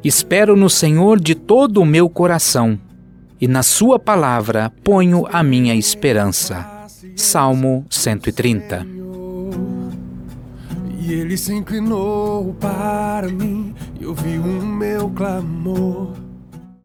Espero no Senhor de todo o meu coração, e na sua palavra ponho a minha esperança. Salmo 130. E ele se inclinou para mim e ouviu o meu clamor.